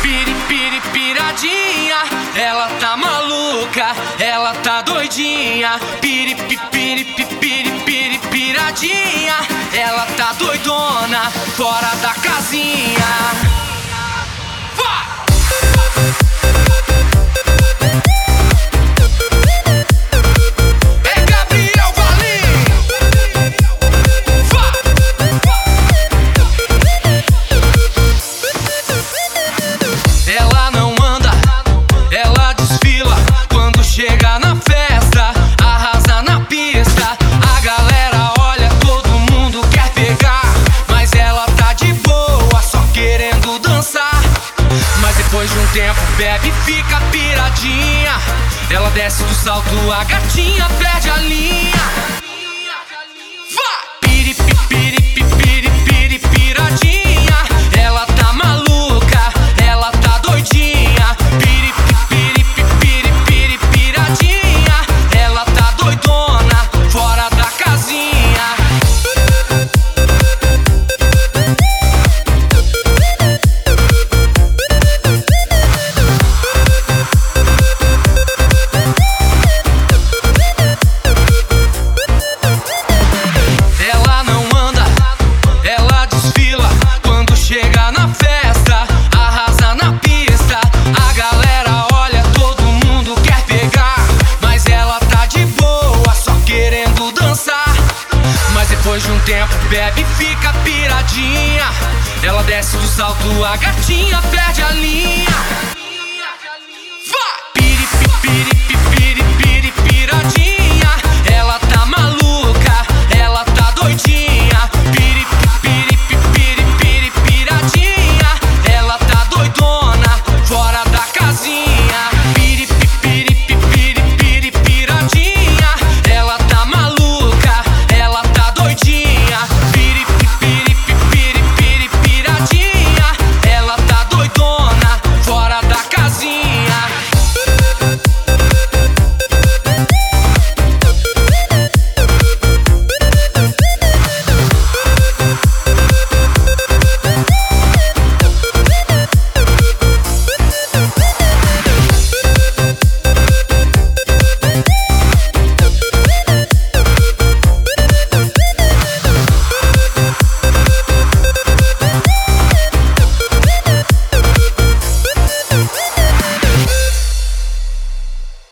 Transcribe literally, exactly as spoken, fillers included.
piri, piri, piradinha. Ela tá maluca, ela tá doidinha. Piri, pi, piri, pi, piri, piri, piradinha. Ela tá doidona, fora da casinha. Chega na festa, arrasa na pista. A galera olha, todo mundo quer pegar, mas ela tá de boa, só querendo dançar. Mas depois de um tempo bebe e fica piradinha. Ela desce do salto, a gatinha perde a linha. Piri, pi, piri, pi, piri, piri, piradinha. Ela tá maluca, ela tá doidinha. Piri, pi, piri, pi, piri, piri, piradinha. Ela tá doidona, fora da casinha. Ela não anda, ela desfila. Quando chega na festa, arrasa na pista. A galera olha, todo mundo quer pegar, mas ela tá de boa, só querendo dançar. Mas depois de um tempo bebe e fica piradinha. Ela desce do salto, a gatinha perde a linha. Piri, pi, piri,